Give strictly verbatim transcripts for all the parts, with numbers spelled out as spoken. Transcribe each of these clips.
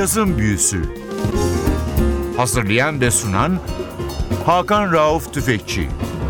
Cazın Büyüsü. Hazırlayan ve sunan Hakan Rauf Tüfekçi.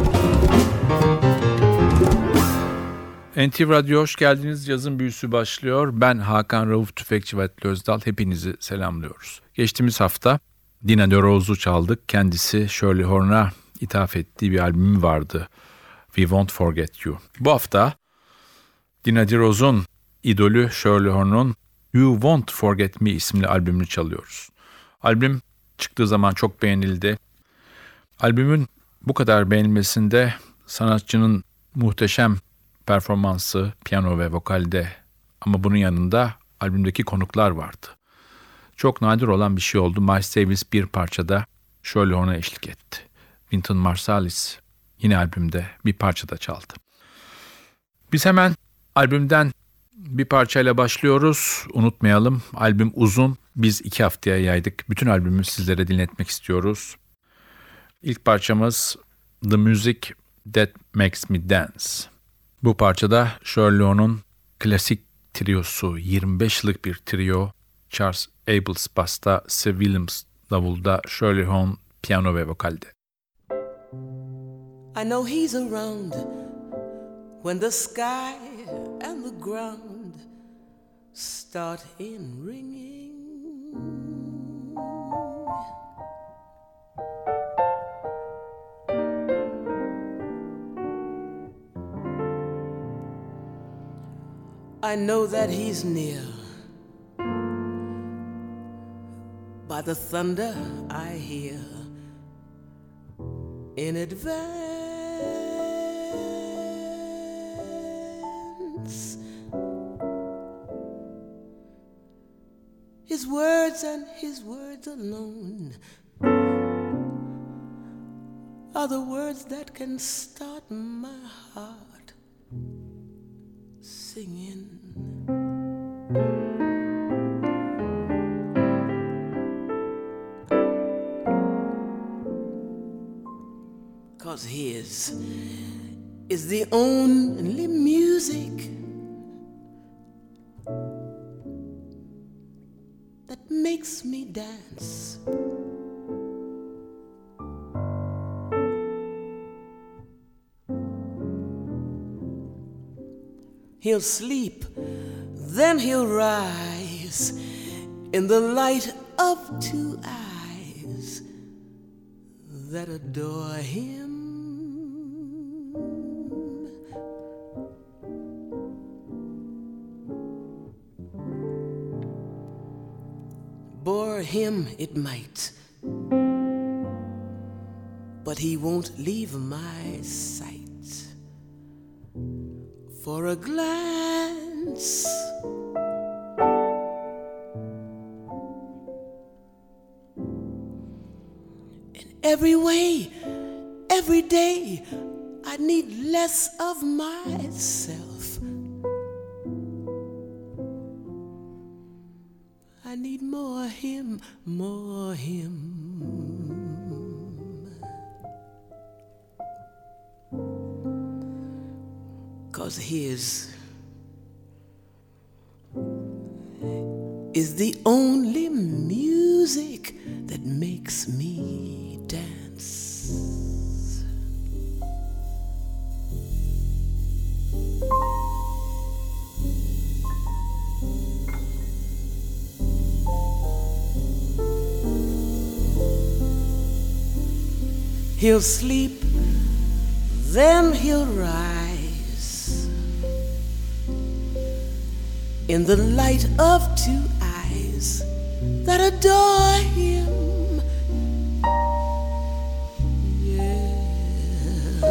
N T V Radyo hoş geldiniz. Cazın Büyüsü başlıyor. Ben Hakan Rauf Tüfekçi ve Atli Özdal. Hepinizi selamlıyoruz. Geçtiğimiz hafta Dina De Rose'u çaldık. Kendisi Shirley Horn'a ithaf ettiği bir albümü vardı. We Won't Forget You. Bu hafta Dina De Rose'un idolü Shirley Horn'un You Won't Forget Me isimli albümünü çalıyoruz. Albüm çıktığı zaman çok beğenildi. Albümün bu kadar beğenilmesinde sanatçının muhteşem performansı, piyano ve vokalde, ama bunun yanında albümdeki konuklar vardı. Çok nadir olan bir şey oldu. Miles Davis bir parçada Shirley Horn'a eşlik etti. Wynton Marsalis yine albümde bir parçada çaldı. Biz hemen albümden bir parçayla başlıyoruz. Unutmayalım, albüm uzun. Biz iki haftaya yaydık. Bütün albümü sizlere dinletmek istiyoruz. İlk parçamız The Music That Makes Me Dance. Bu parçada Shirley Horn'un klasik triosu, yirmi beş yıllık bir trio. Charles Abels basta, Steve Williams davulda, Shirley Horn piyano ve vokalde. I know he's around when the sky and the ground start in ringing. I know that he's near by the thunder I hear in advance. His words and his words alone are the words that can start my heart singing. 'Cause his is the only music that makes me dance. He'll sleep, then he'll rise in the light of two eyes that adore him. Bore him it might, but he won't leave my sight for a glance. In every way, every day, I need less of myself. I need more him, more him. 'Cause his is the only music that makes me dance. He'll sleep, then he'll rise in the light of two eyes that adore him. Yeah.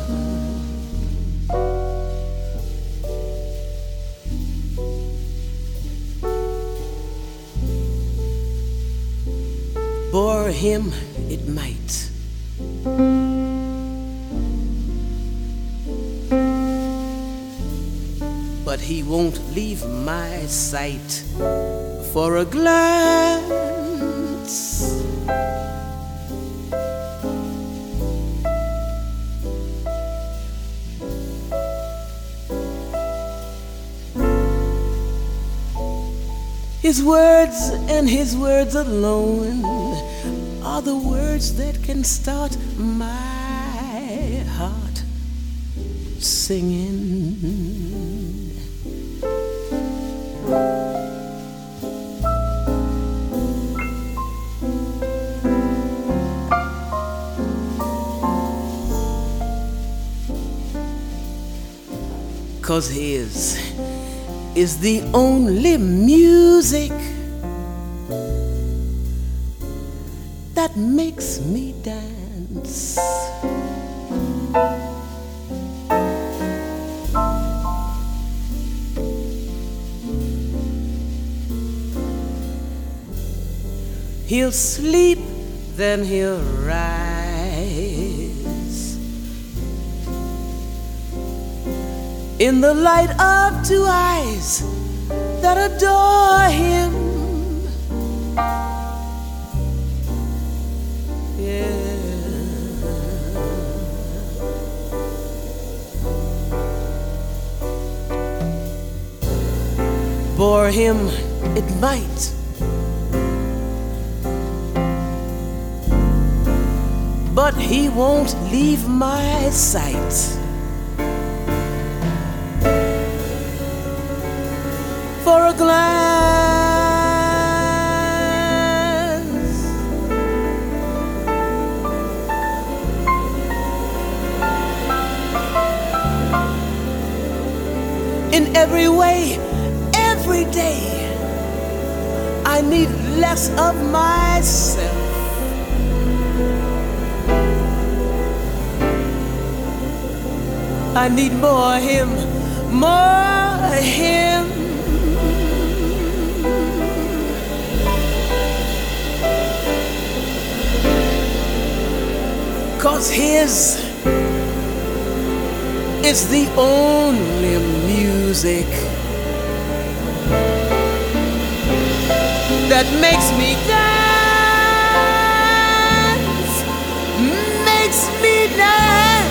Bore him it might, but he won't leave my sight for a glance. His words and his words alone are the words that can start my heart singing. 'Cause his is the only music that makes me dance. He'll sleep, then he'll rise in the light of two eyes that adore him. Yeah. Bore him, it might, but he won't leave my sight. For a glance, in every way, every day, I need less of myself. I need more him, more him. 'Cause his is the only music that makes me dance, makes me dance.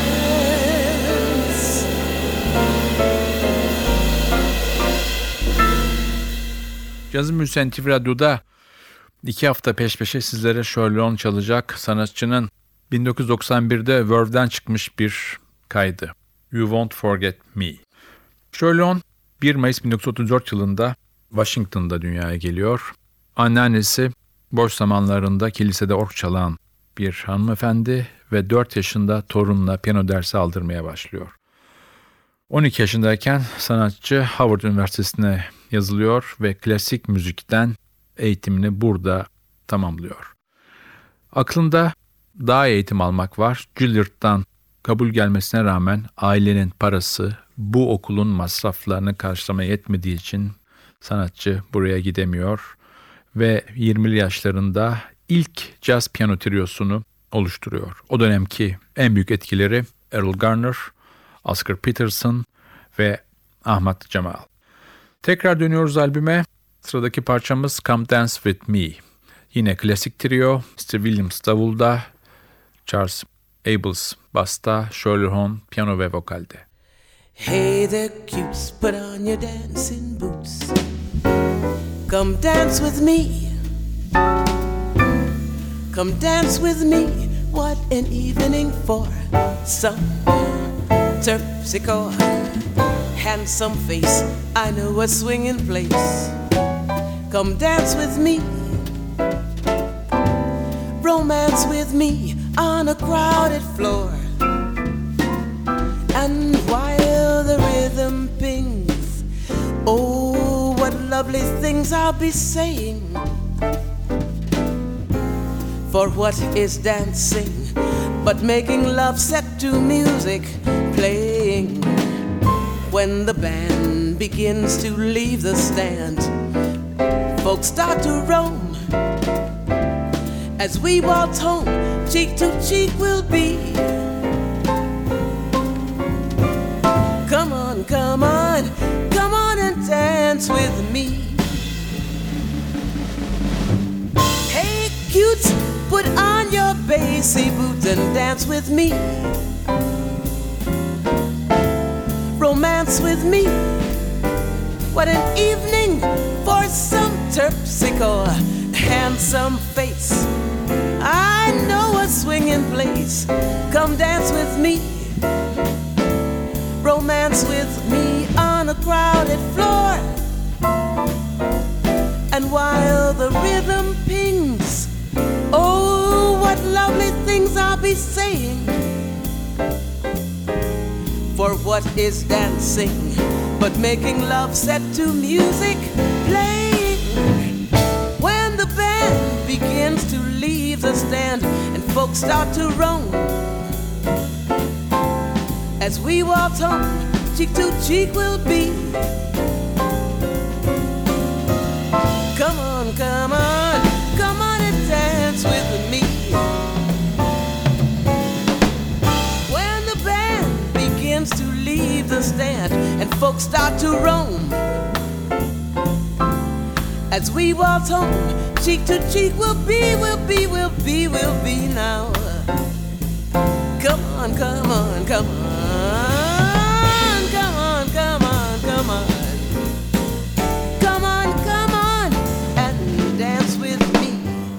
Cazın Büyüsü N T V Radyo'da iki hafta peş peşe sizlere Sherlock çalacak sanatçının bin dokuz yüz doksan birde Verve'den çıkmış bir kaydı. You Won't Forget Me. Sherlock bir Mayıs bin dokuz yüz otuz dört yılında Washington'da dünyaya geliyor. Anneannesi boş zamanlarında kilisede org çalan bir hanımefendi ve dört yaşında torunla piyano dersi aldırmaya başlıyor. on iki yaşındayken sanatçı Howard Üniversitesi'ne yazılıyor ve klasik müzikten eğitimini burada tamamlıyor. Aklında daha iyi eğitim almak var. Juilliard'dan kabul gelmesine rağmen ailenin parası bu okulun masraflarını karşılamaya yetmediği için sanatçı buraya gidemiyor ve yirmili yaşlarında ilk caz piyano triyosunu oluşturuyor. O dönemki en büyük etkileri Errol Garner, Oscar Peterson ve Ahmad Cemal. Tekrar dönüyoruz albüme. Sıradaki parçamız Come Dance With Me. Yine klasik trio, Steve Williams davulda, Charles Abels basta, Shirley Horn piyano ve vokalde. Hey there cutes, put on your dancing boots. Come dance with me. Come dance with me. What an evening for some terpsichore. Handsome face, I know a swinging place. Come dance with me. Romance with me on a crowded floor. And while the rhythm pings, oh, what lovely things I'll be saying. For what is dancing but making love set to music playing? When the band begins to leave the stand, folks start to roam. As we waltz home, cheek to cheek we'll be. Come on, come on, come on and dance with me. Hey cutes, put on your bassy boots and dance with me. Romance with me. What an evening for some terpsichore, handsome face. I know a swinging place. Come dance with me, romance with me on a crowded floor. And while the rhythm pings, oh, what lovely things I'll be saying. For what is dancing but making love set to music playing? When the band begins to leave the stand and folks start to roam, as we waltz home, cheek to cheek we'll be. Come on, come on, come on and dance with me. When the band begins to leave the stand and folks start to roam, as we waltz home, cheek to cheek we'll be, we'll be, we'll be, we'll be now. Come on, come on, come on, come on, come on, come on. Come on, come on, and dance with me.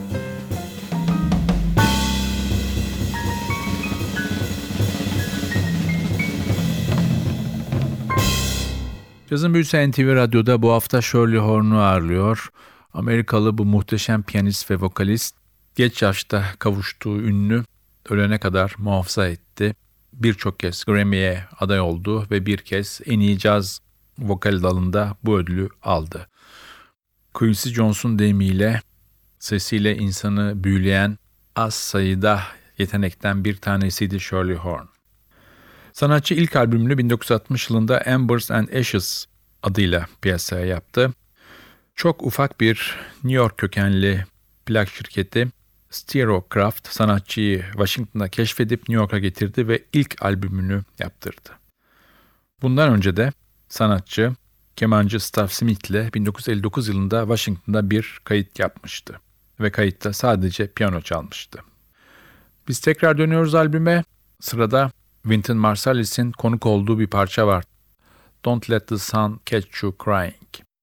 Cazın Büyüsü N T V Radyo'da bu hafta Shirley Horn'u ağırlıyor. Amerikalı bu muhteşem piyanist ve vokalist geç yaşta kavuştuğu ününü ölene kadar muhafaza etti. Birçok kez Grammy'ye aday oldu ve bir kez en iyi caz vokal dalında bu ödülü aldı. Quincy Jones'un deyimiyle sesiyle insanı büyüleyen az sayıda yetenekten bir tanesiydi Shirley Horn. Sanatçı ilk albümünü bin dokuz yüz altmış yılında Embers and Ashes adıyla piyasaya yaptı. Çok ufak bir New York kökenli plak şirketi Stereocraft sanatçıyı Washington'da keşfedip New York'a getirdi ve ilk albümünü yaptırdı. Bundan önce de sanatçı kemancı Staff Smith ile bin dokuz yüz elli dokuz yılında Washington'da bir kayıt yapmıştı ve kayıtta sadece piyano çalmıştı. Biz tekrar dönüyoruz albüme. Sırada Wynton Marsalis'in konuk olduğu bir parça var. Don't Let the Sun Catch You Crying.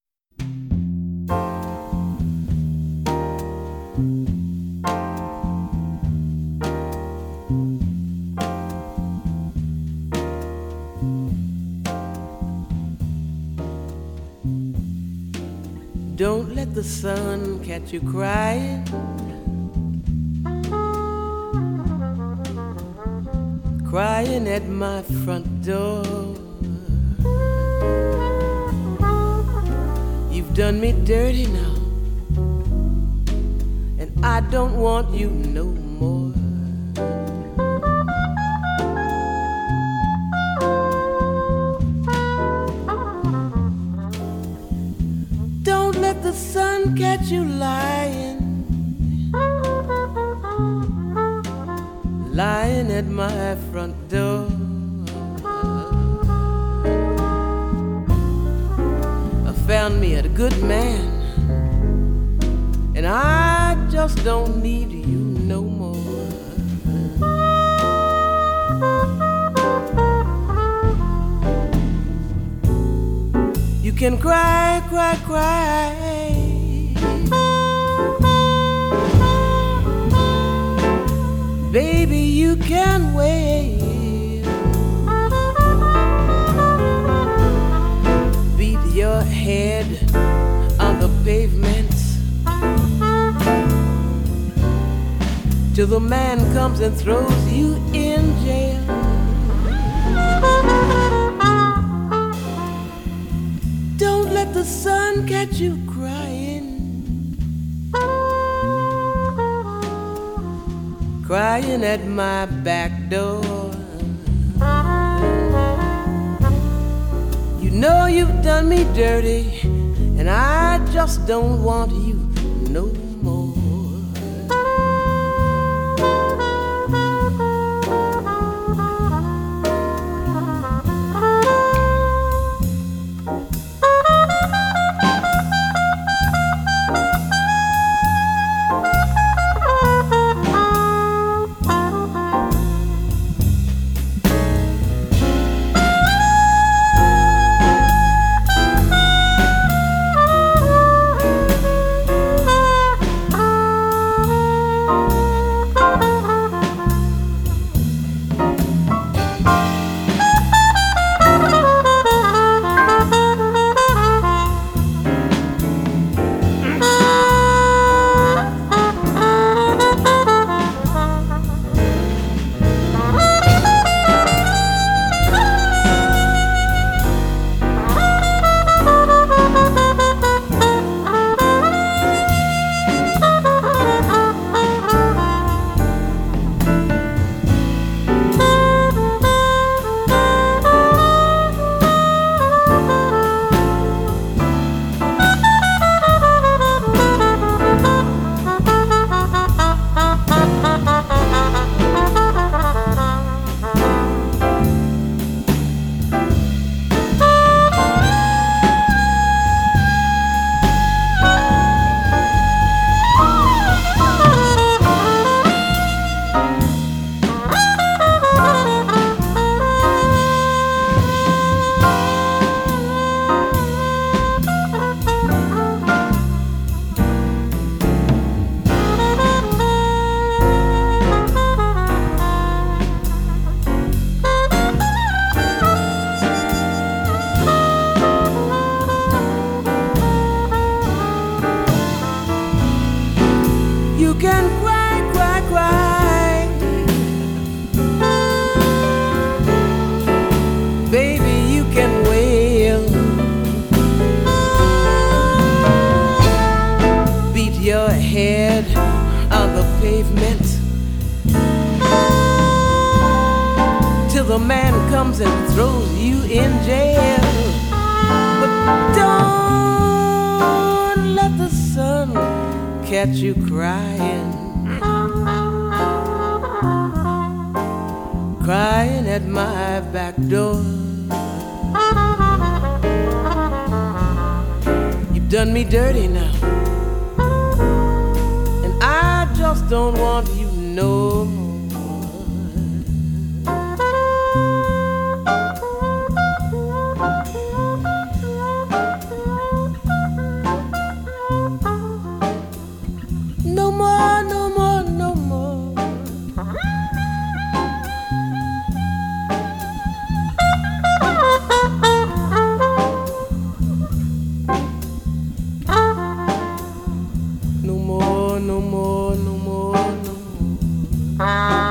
Don't let the sun catch you crying. Crying at my front door. You've done me dirty now, and I don't want you no more. The sun catch you lying, lying at my front door. I found me a good man, and I just don't need you no more. You can cry, cry, cry. Baby, you can wait. Beat your head on the pavement till the man comes and throws you in jail. Don't let the sun catch you crying, crying at my back door. You know you've done me dirty, and I just don't want you no more. the man comes and throws you in jail. But don't let the sun catch you crying, crying at my back door. You've done me dirty now, and I just don't want you no more. No more, no more, no more. No more, no more, no more, no more.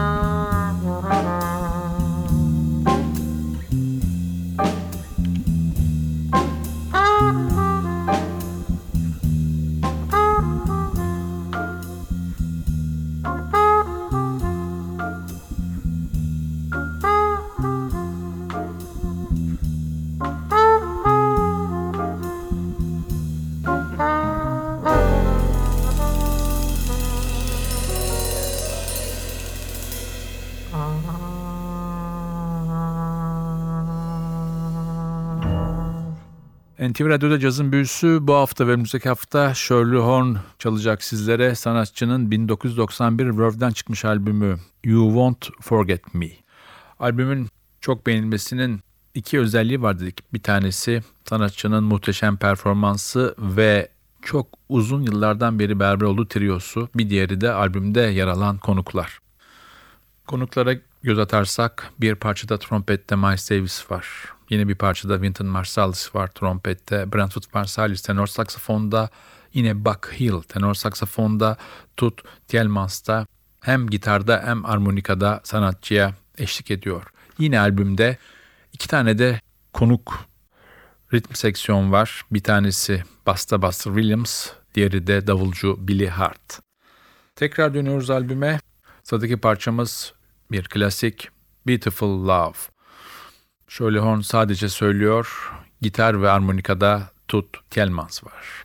N T V Radyo'da Cazın Büyüsü bu hafta ve önümüzdeki hafta Shirley Horn çalacak sizlere. Sanatçının bin dokuz yüz doksan bir Verve'den çıkmış albümü You Won't Forget Me. Albümün çok beğenilmesinin iki özelliği var dedik. Bir tanesi sanatçının muhteşem performansı ve çok uzun yıllardan beri beraber olduğu triosu. Bir diğeri de albümde yer alan konuklar. Konuklara göz atarsak bir parçada trompette Miles Davis var. Yine bir parçada Wynton Marsalis var trompette. Brentford Marsalis tenor saksafonda. Yine Buck Hill tenor saksafonda. Tut Tielemans hem gitarda hem armonikada sanatçıya eşlik ediyor. Yine albümde iki tane de konuk ritim seksiyon var. Bir tanesi basta Buster Williams, diğeri de davulcu Billy Hart. Tekrar dönüyoruz albüme. Sıradaki parçamız bir klasik, Beautiful Love. Shirley Horn sadece söylüyor, gitar ve armonikada Tut Tielemans var.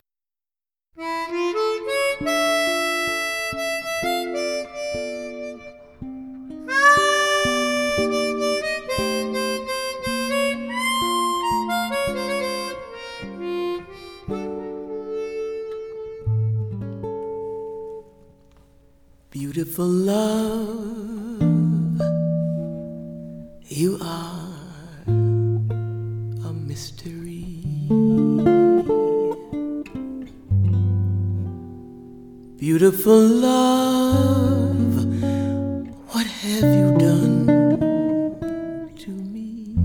Beautiful love, you are a mystery. Beautiful love, what have you done to me?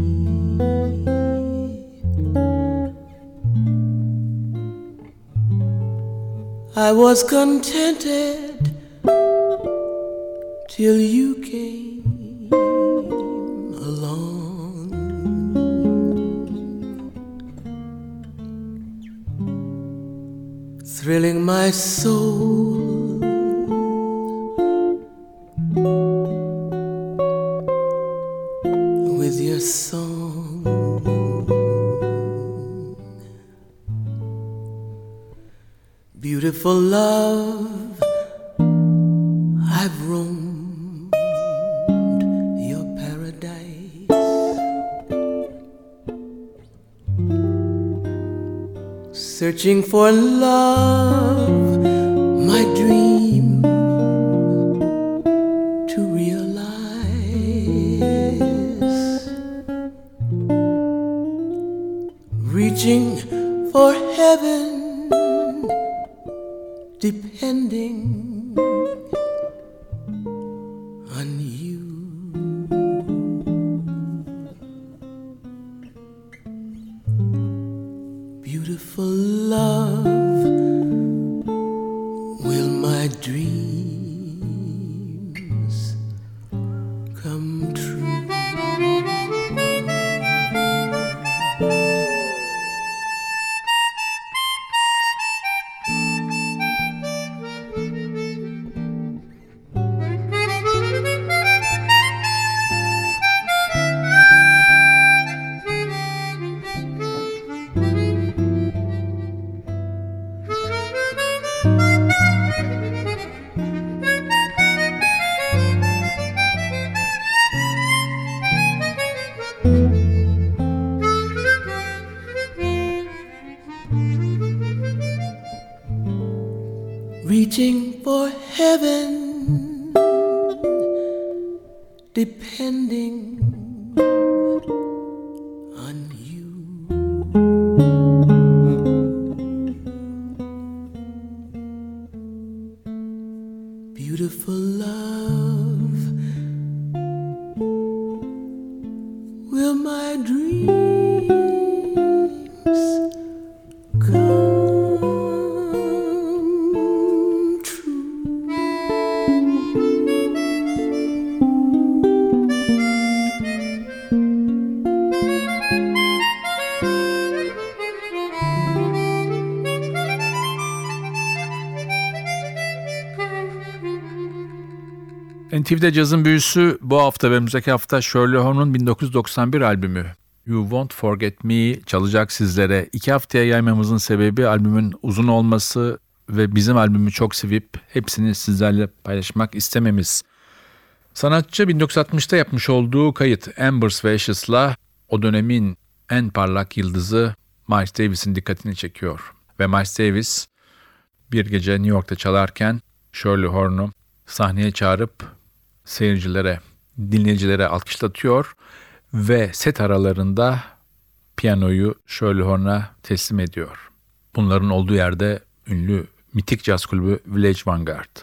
I was contented till you came along. Thrilling my soul with your song. Beautiful love, I've roamed your paradise, searching for love, my dream to realize, reaching for heaven, depending on you. Beautiful love, will my dreams come true? depending on you. Beautiful love, will my dreams come true? N T V'de cazın büyüsü bu hafta ve önümüzdeki hafta Shirley Horn'un bin dokuz yüz doksan bir albümü You Won't Forget Me çalacak sizlere. İki haftaya yaymamızın sebebi albümün uzun olması ve bizim albümü çok sevip hepsini sizlerle paylaşmak istememiz. Sanatçı bin dokuz yüz altmışta yapmış olduğu kayıt Embers ve Ashes'la o dönemin en parlak yıldızı Miles Davis'in dikkatini çekiyor. Ve Miles Davis bir gece New York'ta çalarken Shirley Horn'u sahneye çağırıp seyircilere, dinleyicilere alkışlatıyor ve set aralarında piyanoyu Shirley Horn'a teslim ediyor. Bunların olduğu yerde ünlü mitik caz kulübü Village Vanguard.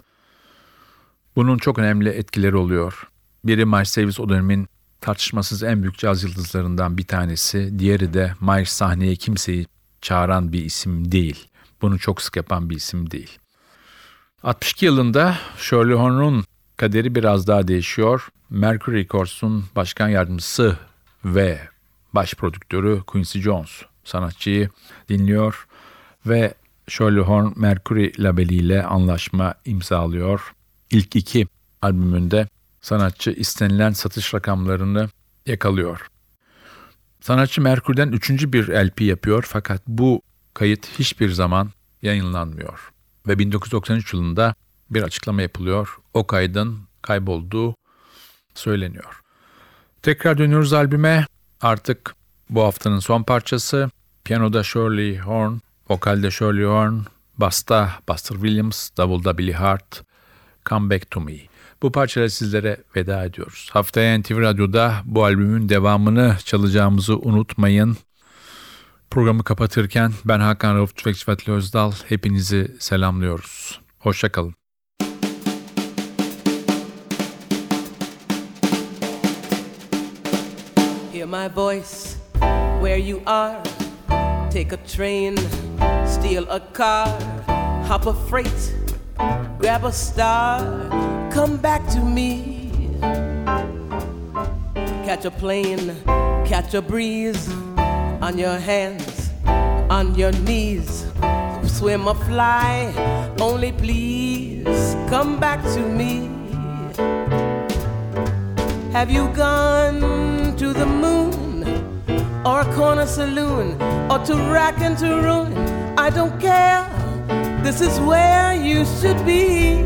Bunun çok önemli etkileri oluyor. Biri Miles Davis o dönemin tartışmasız en büyük caz yıldızlarından bir tanesi. Diğeri de Miles sahneye kimseyi çağıran bir isim değil. Bunu çok sık yapan bir isim değil. altmış iki yılında Shirley Horn'un kaderi biraz daha değişiyor. Mercury Records'un başkan yardımcısı ve baş prodüktörü Quincy Jones sanatçıyı dinliyor ve Shirley Horn Mercury labeliyle anlaşma imzalıyor. İlk iki albümünde sanatçı istenilen satış rakamlarını yakalıyor. Sanatçı Mercury'den üçüncü bir L P yapıyor fakat bu kayıt hiçbir zaman yayınlanmıyor. Ve bin dokuz yüz doksan üç yılında bir açıklama yapılıyor. O kaydın kaybolduğu söyleniyor. Tekrar dönüyoruz albüme. Artık bu haftanın son parçası. Piyanoda Shirley Horn, vokalde Shirley Horn, basta Buster Williams, davulda Billy Hart, Come Back to Me. Bu parçayla sizlere veda ediyoruz. Haftaya N T V Radyo'da bu albümün devamını çalacağımızı unutmayın. Programı kapatırken ben Hakan Rauf Tüfekçi ve Atli Özdal hepinizi selamlıyoruz. Hoşça kalın. Hear my voice where you are. Take a train, steal a car, hop a freight, grab a star, come back to me. Catch a plane, catch a breeze, on your hands, on your knees, swim or fly, only please come back to me. Have you gone to the moon, or a corner saloon, or to rack and to ruin? I don't care, this is where you should be.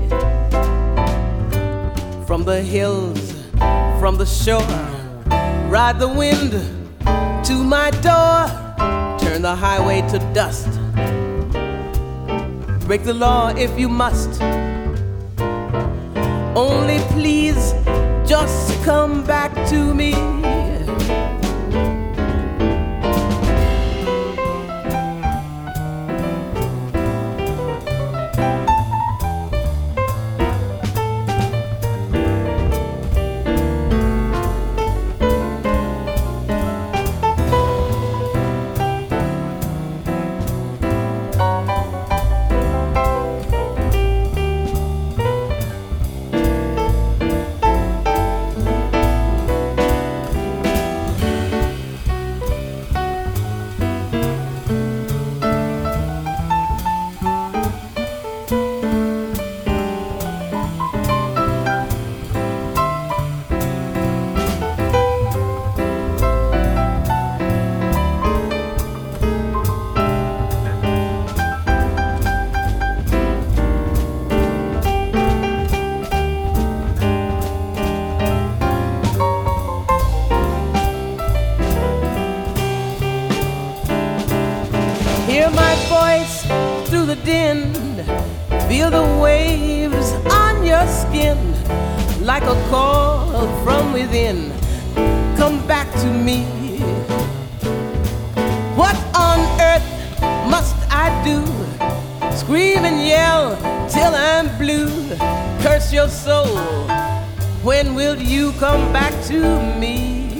From the hills, from the shore, ride the wind to my door, turn the highway to dust, break the law if you must, only please just come back to me. like a call from within. Come back to me. What on earth must I do? Scream and yell till I'm blue. Curse your soul. When will you come back to me?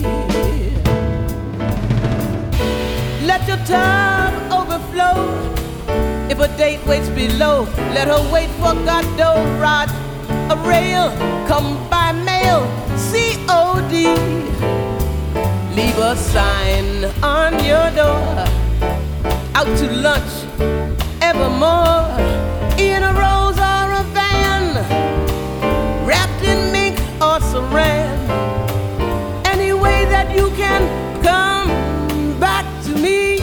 Let your tub overflow. If a date waits below, let her wait for Godot. Rod a rail, come by mail, C O D. Leave a sign on your door. Out to lunch, evermore. In a rose or a van, wrapped in mink or saran. Any way that you can come back to me.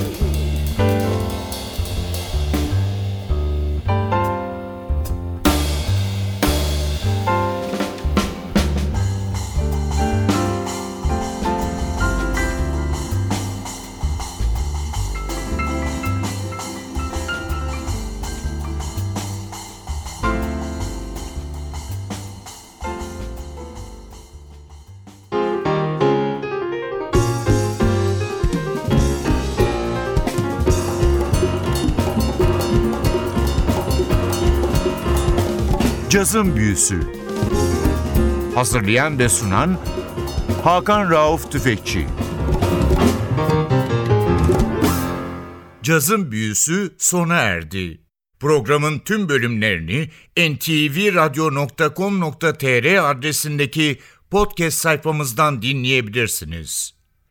Cazın Büyüsü. Hazırlayan ve sunan Hakan Rauf Tüfekçi. Cazın Büyüsü sona erdi. Programın tüm bölümlerini en ti vi radyo nokta com nokta tr adresindeki podcast sayfamızdan dinleyebilirsiniz.